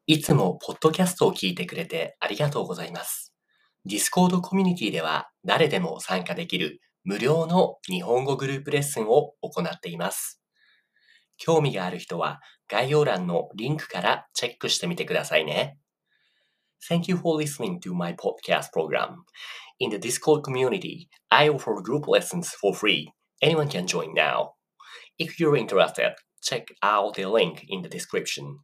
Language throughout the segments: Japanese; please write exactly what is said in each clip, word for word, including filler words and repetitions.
いつもポッドキャストを聞いてくれてありがとうございます。Discord コミュニティでは誰でも参加できる無料の日本語グループレッスンを行っています。興味がある人は概要欄のリンクからチェックしてみてくださいね。Thank you for listening to my podcast program. In the Discord community, I offer group lessons for free. Anyone can join now. If you're interested, check out the link in the description.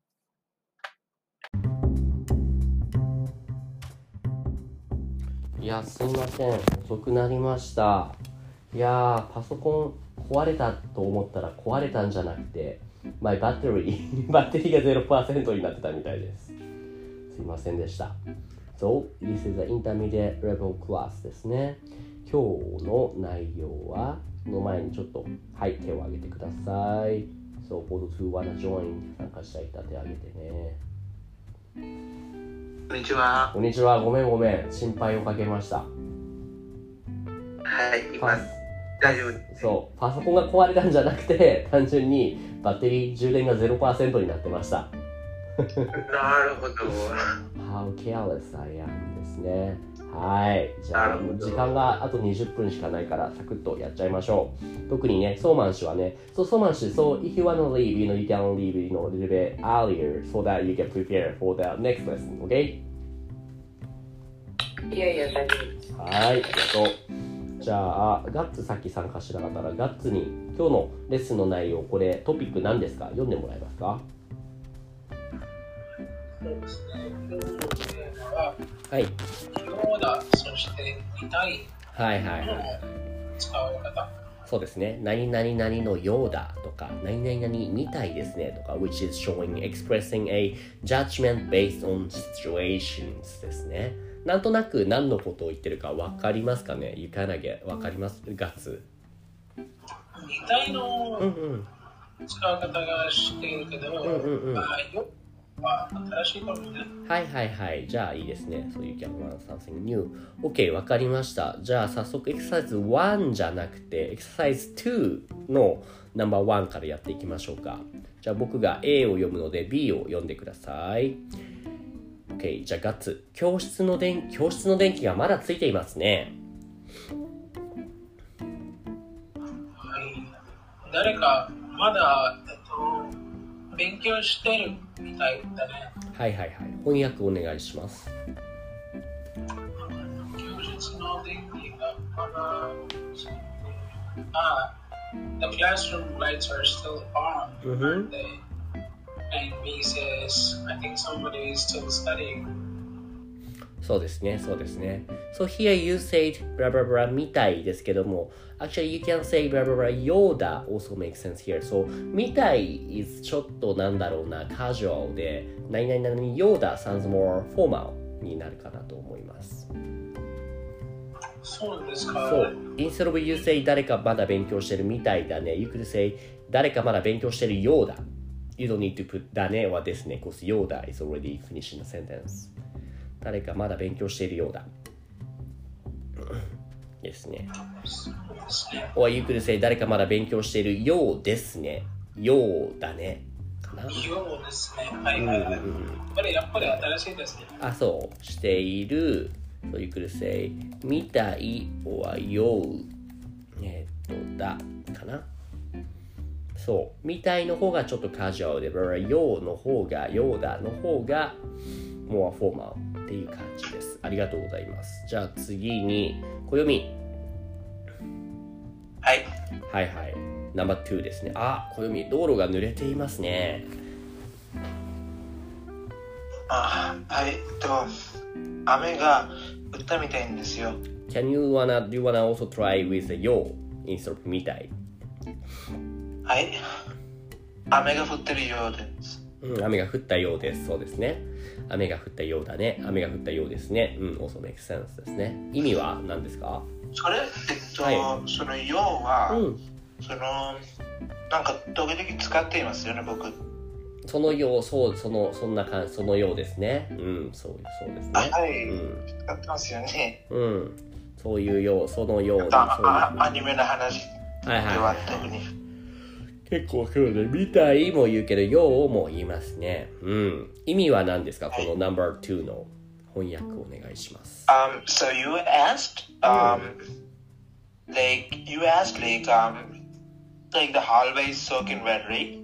いや、すいません。遅くなりました。いやー、パソコン壊れたと思ったら壊れたんじゃなくて、My battery バッテリーが ゼロパーセント になってたみたいです。すいませんでした。So, this is the intermediate level class ですね。今日の内容は、その前にちょっと、はい、手を挙げてください。So, for those who wanna join 参加したい方手を挙げてね。 こんにちは。 こんにちは。ごめんごめん。心配をかけました。 はい、今大丈夫です。 そう、パソコンが壊れたんじゃなくて、単純にバッテリー充電が ゼロパーセント になってました。 なるほど。 How careless I am ですね。はい。じゃあ、時間があとにじゅっぷんしかないから、サクッとやっちゃいましょう。特にね、ソーマン氏はね、そう、ソーマン氏、so if you wanna leave, you know, you can leave, you know, a little bit earlier so that you can prepare for the next lesson, okay? いやいや、大丈夫です。 はい、ありがとう。じゃあ、ガッツさっき参加しなかったら、ガッツに今日のレッスンの内容、これトピック何ですか？読んでもらえますか？ そうですね。今日のテーマは、 はい。 ヨーダ、そして見たいはいはいのはい。 使い方。 そうですね。何々々のようだとか、何々々みたいですねとか、which is showing, expressing a judgment based on situations ですね。なんとなく何のことを言ってるか分かりますかね？ You kinda get 分かります？ガッツ。 見たいのうんうん。 使い方がしているけど、 うんうんうん。 あ、よは新しいかもね。 はいはいはい。じゃあいいですね。So you can learn something new. OK、わかりました。じゃあ早速エクササイズワンじゃなくて、エクササイズツーのナンバーワンからやっていきましょうか。じゃあ僕が A を読むので B を読んでください。OK、じゃあガッツ。教室の電、教室の電気がまだついていますね。 はい。誰かまだ、えっと、勉強してるみたいだね。 はいはいはい。翻訳お願いします。 教室の電気がまだ、あ、the classroom lights are still on, aren't they? And B says, I think somebody is still studying. そうですね、そうですね。So here you said blah blah blah みたいですけども、actually you can say blah blah blah ようだ also makes sense here. So みたい is ちょっとなんだろうな、casual で、何々々ようだ sounds more formal になるかなと思います。 そうですか。 そう。Instead of you say 誰かまだ勉強してるみたいだね。You could say 誰かまだ勉強してるようだ。You don't need to put だねはですね、because ようだ is already finishing the sentence. 誰かまだ勉強しているようだ。ですね。or you could say 誰かまだ勉強しているようですね。ようだね。かな。 ようですね。はいはいはい。これやっぱり新しいですね。 あ、そう。している。So you could say みたい or よう。えっと、だ。かな。そう。みたいの方がちょっとカジュアルで、ようの方が、ようだの方が、more formal っていう感じです。ありがとうございます。じゃあ次に、暦。 はい。 はいはい。ナンバーツーですね。あ、暦、道路が濡れていますね。 あ、はい。えっと、雨が降ったみたいんですよ。 Can you wanna, do you wanna also try with the よう instead of みたい？ はい。雨が降ってるようです。 うん、雨が降ったようです。そうですね。雨が降ったようだね。雨が降ったようですね。うん、also makes sense ですね。意味は何ですか？ それ、えっと、はい、そのようは、うん、その、なんか時々使っていますよね、僕。 そのよう、そう、その、そんな感じ、そのようですね。うん、そう、そうですね。 はい、 うん、 使ってますよね。 うん、そういうよう、そのような。あ、アニメの話では特に。 結構そうね、みたいも言うけど、ようも言いますね。うん。意味は何ですか、この ナンバーツー の翻訳お願いします。 Um, so you asked, um, like, you asked, like, um, like the hallway is soaking wet, right?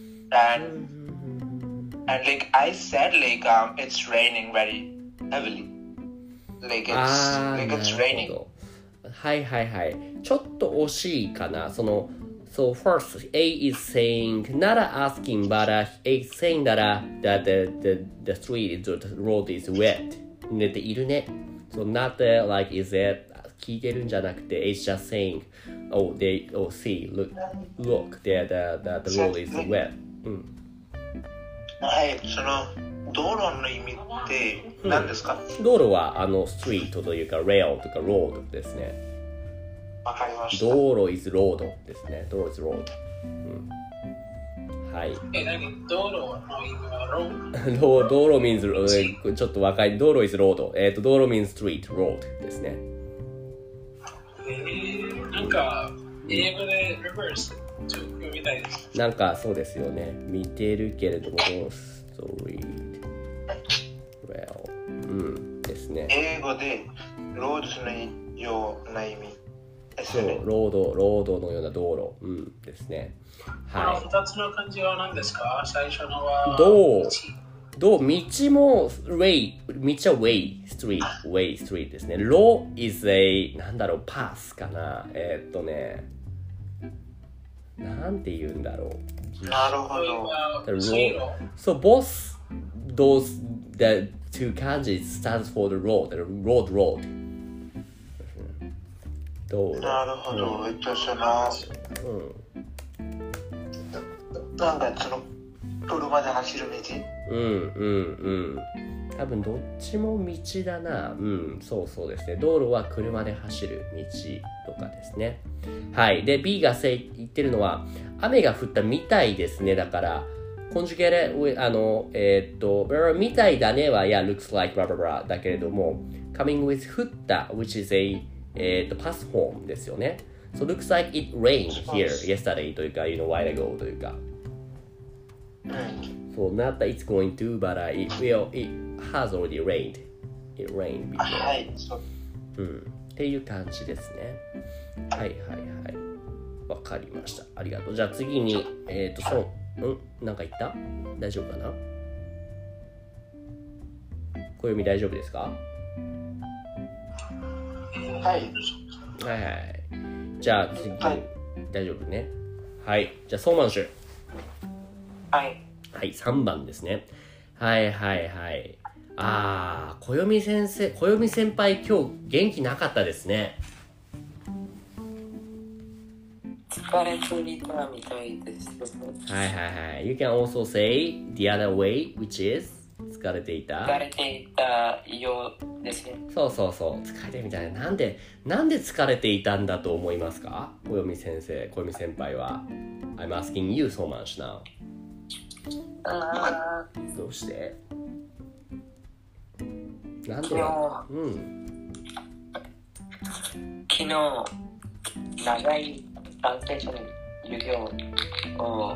And, and like I said, like, um, it's raining very heavily. Like it's, like it's raining. はいはいはい。ちょっと惜しいかな。その、So first, A is saying, not asking, but uh, A is saying that, uh, that the, the, the street, the road is wet. 寝ているね。So not uh, like, is it, 聞いてるんじゃなくて、A is just saying, oh, they, oh, see, look, look, the, the, the, the road is wet. うん。 はい、その、道路の意味って何ですか？ うん、道路は、あの、ストリートというか、レールとか、ロードですね。 わかりました。 道路 is road ですね。道路 is road。うん、はい。 え、何？道路の意味はロード？道路 means ちょっと若い。道路 is road。えっと、道路 means street、road ですね。 えー、なんか、英語で reverse ちょっと読みたいです。 なんかそうですよね。見てるけれども、street、well、うん、ですね。 英語でロードのような意味。 そう、ロード、ロードのような道路、うん、ですね。 はい。このふたつの漢字は何ですか？最初のは道、道、道も way、道は way、street、way、street ですね。ロ is a、なんだろう、パスかな。えー、っとね、なんて言うんだろう。 なるほど。 So both those the two kanji stands for the road, the road, road. なるほど、えっとその、うん、なんかその車で走る道、 うんうんうん多分どっちも道だな。うんそうそうですね。道路は車で走る道とかですね。はい。で B が言ってるのは雨が降ったみたいですね。だからコンジュゲーレあのえー、っとみたいだねは yeah looks like blah blah blah だけれども coming with 降った which is aえー、っとパスフォームですよね。So looks like it rained here yesterday というか you know while ago というか。So not that it's going to, but、uh, it will, it has already rained. It rained before. はい。 うん。っていう感じですね。はいはいはい。わかりました。ありがとう。じゃあ次に、えっ、ー、と、そう、うんなんか言った大丈夫かな小読み大丈夫ですかはい。はいはいはい。じゃあ次、はい、大丈夫ね。はい。じゃあ、ソーマンシュ。 はい。 はい、さんばんですね。はいはいはい。あー、小読先生、小読先輩、今日元気なかったですね。 疲れていたみたいです。 はいはいはい。You can also say the other way, which is 疲れていた。 疲れていたようですね。 そうそうそう。疲れてみたいな。なんで、なんで疲れていたんだと思いますか小読先生、小読先輩は。I'm asking you so much now. あどうしてなんで昨日、 うん、 昨日長いトランスレーション授業を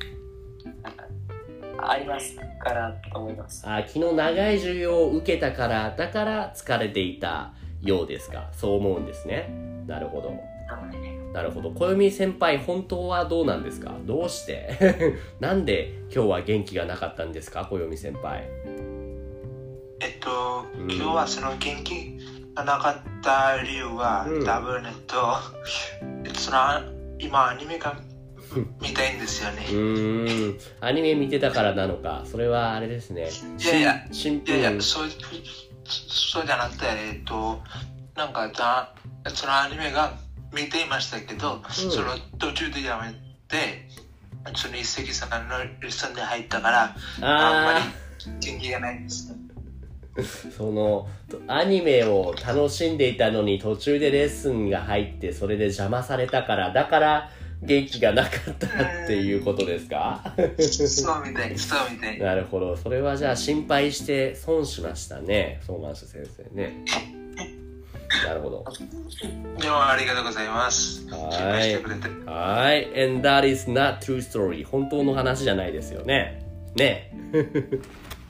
ありますからと思います。 あ、昨日長い授業を受けたからだから疲れていたようですか。そう思うんですね。なるほど。なるほど。小読先輩本当はどうなんですか。どうしてなんで今日は元気がなかったんですか小読先輩。 えっと、うん、今日はその元気がなかった理由は、うん、多分えっとその今アニメが見たいんですよね。うーんアニメ見てたからなのか。それはあれですね。 いやいやシンプルいやいやそうそうじゃなくてえっとなんかだそのアニメが見ていましたけど、うん、その途中でやめてその一石さんのレッスンで入ったからあんまり元気がないです。 そのアニメを楽しんでいたのに途中でレッスンが入ってそれで邪魔されたからだから元気がなかったっていうことですかそうみたいそうみたい。 なるほど。それはじゃあ心配して損しましたね。ソーマンシュ先生ね。 なるほど。 でもありがとうございます。 はい心配してくれて。 はい。And that is not true story. 本当の話じゃないですよね。ねえ。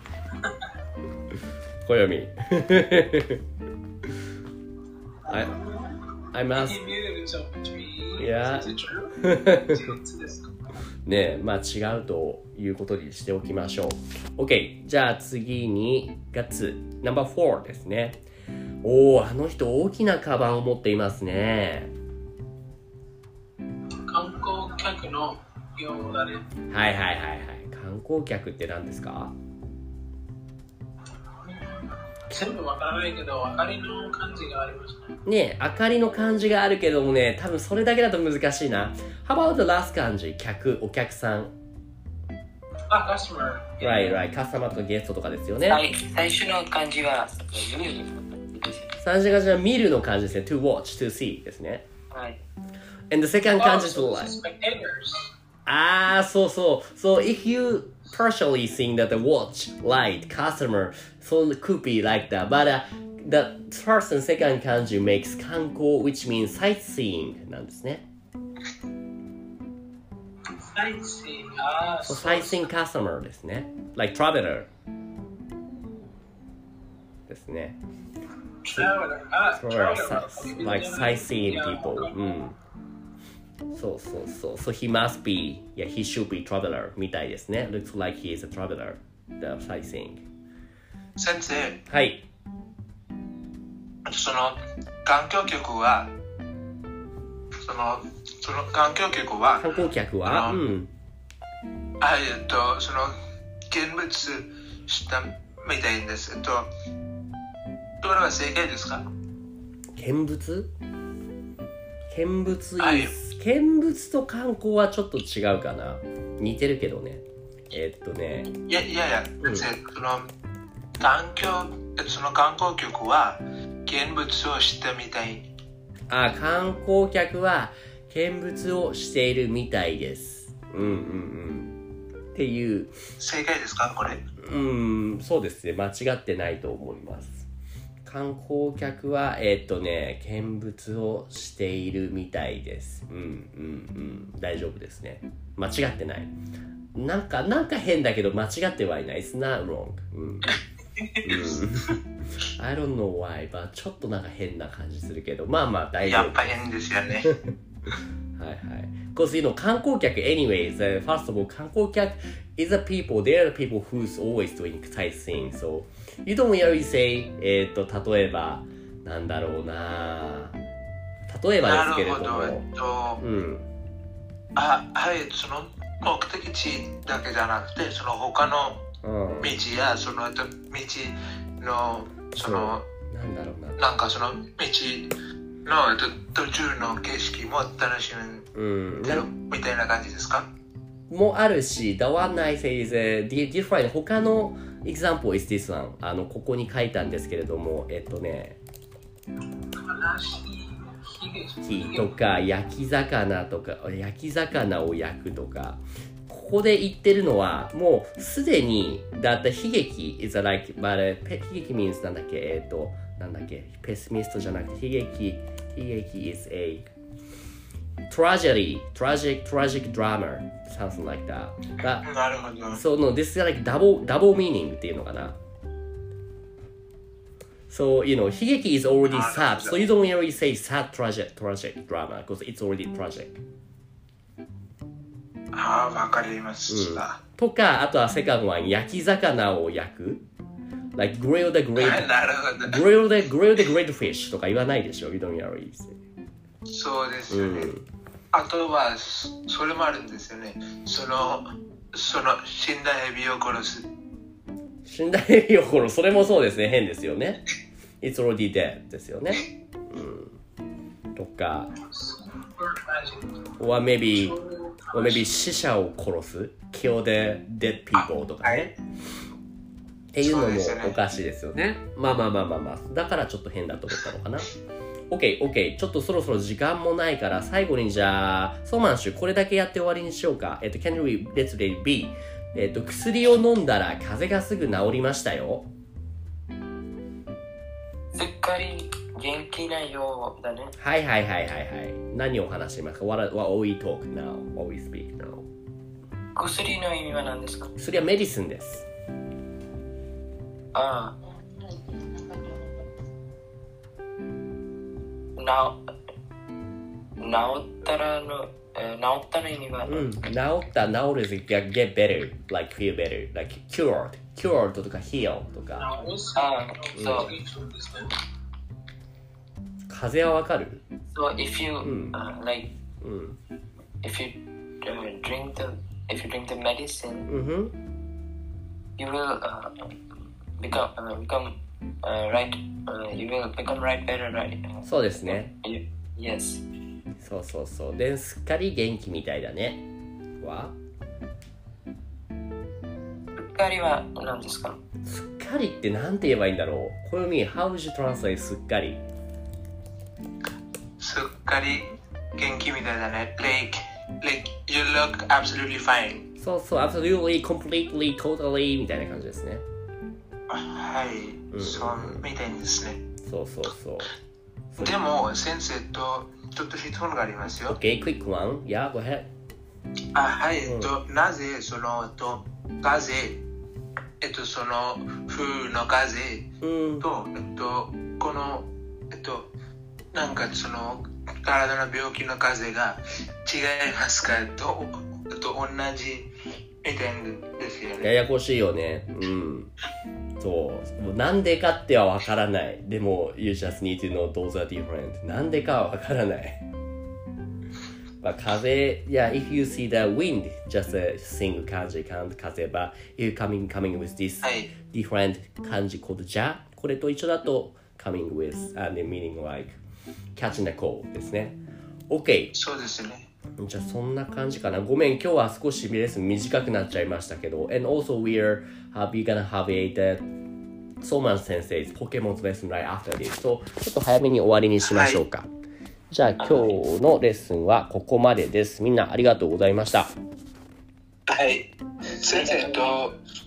小読み。I, I'm He asked. muted himself between. Yeah. Is it true? Is it this? ねえ、まあ違うということにしておきましょう。OK。じゃあ次に、ガッツ。ナンバーフォーですね。おー、あの人大きなカバンを持っていますね。 観光客の用語だね。 はいはいはいはい。観光客って何ですか？ 全部わからないけど、明かりの感じがありましたね。 ねえ、明かりの漢字があるけどもね、多分それだけだと難しいな。How about the last 漢字？客、お客さん。 あ、customer。 Right, right. カスタマーとかゲストとかですよね。 はい、最初の漢字は見る。 最初の漢字は見るの漢字ですね。to watch, to see ですね。 はい。 And the second 漢字 is Oh, so like. spectators. あー、そうそう。So if you partially think that the watch, light, customer, so it could be like that. But、uh, the first and second 漢字 makes 観光 which means sightseeing なんですね。 Sightseeing. あー、 So そう sightseeing customer ですね。like traveler ですね。 Traveler. あ、 traveler, traveler. like sightseeing people. Yeah. うん。そうそうそう。So he must be, yeah, he should be traveler みたいですね。Looks like he is a traveler. The sightseeing. 先生、 はい。 その観光客は、そのその観光客は、 観光客は、 あのうん。 はい、えっと、その見物したみたいです。えっと、これは正解ですか？ 見物見物はいいい見物と観光はちょっと違うかな。似てるけどね。えっとね。 いやいやいや、 うん先生、その観光、その観光客は見物をしたみたい。 あ、観光客は見物をしているみたいです。うんうんうん。っていう、 正解ですかこれ？ うん、そうですね。間違ってないと思います。観光客は、えっとね、見物をしているみたいです。うんうんうん。大丈夫ですね。間違ってない。なんか、なんか変だけど間違ってはいない。It's not wrong. うん。うん、I don't know why, but ちょっとなんか変な感じするけど、まあまあ大丈夫。 やっぱ変ですよね。 はいはい。Because, you know, 観光客 anyways, uh, first of all, 観光客 is a people, they are the people who's always doing sightseeing. So, you don't really say, えっと、例えば、なんだろうな例えばですけれども。 なるほど。えっと、 うん。 あ、はい、その目的地だけじゃなくて、その他のうん。 道や、そのえっと道の、その、 なんだろうな。 なんかその道の、えっと、途中の景色も楽しうん。 めるみたいな感じですか？ もあるし、the one I say is uh, different. 他の example is this one. あの、ここに書いたんですけれども、えっとね、 悲しい悲劇とか焼き魚とか焼き魚を焼くとか、ここで言ってるのはもうすでにだって悲劇 is a like but 悲劇 means なんだっけえっとなんだっけペスミストじゃなくて悲劇悲劇 is a tragedy tragic tragic drama something like that がなるほど。 その this is like double double meaning っていうのかな。So, you know, 悲劇 is already sad, so you don't really say sad tragic, tragic drama because it's already tragic. ああ、わかりましうんた。 とか、あとはセカンドは焼き魚を焼く like grill the はい great, なるほど。 grill the, grill the great fish とか言わないでしょ You don't really say. そうですよね。 うん。 あとは、そそれもあるんですよね。その、その死んだエビを殺す。 死んだエビを殺す。それもそうですね。変ですよね。It's already dead ですよね。うん。とか、or maybe, or maybe 死者を殺す。kill the dead people とかね。っていうのもおかしいですよね。まあまあまあまあまあ。だからちょっと変だと思ったのかな。OK、OK。ちょっとそろそろ時間もないから、最後にじゃあ、ソーマンシュ、これだけやって終わりにしようか。えっと、Can we, let's read B。えっと、薬を飲んだら風邪がすぐ治りましたよ。 すっかり元気なようだね。 はいはいはいはいはい。何を話しますか？ What, what we talk now? What we speak now? 薬の意味は何ですか？ 薬はメディスンです。 ああ。な、治ったらの、えー、治ったの意味は、 うん、治った、治る is get better, like feel better, like cured, cured とか heal とか。 Now, what's ああ、そう。 from this then? 風邪はわかる？ So if you、 うん uh, like うん。 if you、uh, drink the if you drink the medicine、 うん、 you will、uh, become、uh, become、uh, right、uh, you will become right better right、uh, そうですね。 you, yes。 そうそうそう。で、すっかり元気みたいだね。は？ すっかりは何ですか？ すっかりってなんて言えばいいんだろう。これ見、how would you translate すっかり？ すっかり元気みたいだね。Like, like you look absolutely fine. そうそう、absolutely, completely, totally みたいな感じですね。 はい、 うん、 そうみたいですね。 そうそうそう。 でも、先生とちょっと質問がありますよ。 Okay, quick one. Yeah, go ahead. あ、はい、えっと、なぜその、えっと、風邪、えっと、その、風の風うん、 と、えっと、この、えっと、なんかその、体の病気の風が違いますかと、と同じみたいですよね。 ややこしいよね。うん。そう。もうなんでかってはわからない。でも、you just need to know those are different. なんでかはわからない。まあ、風、yeah, if you see the wind, just a single 漢字、風ば、you coming, coming with this はい。 different 漢字 called じゃ、これと一緒だと coming with and the meaning like catching the cold ですね。OK。 そうですね。 じゃあそんな感じかな。ごめん、今日は少しレッスン短くなっちゃいましたけど。And also we're uh, we're gonna have a the ソーマン先生 Pokemon's lesson right after this. とちょっと早めに終わりにしましょうか。はい、じゃあ今日のレッスンはここまでです。みんなありがとうございました。 はい。先生と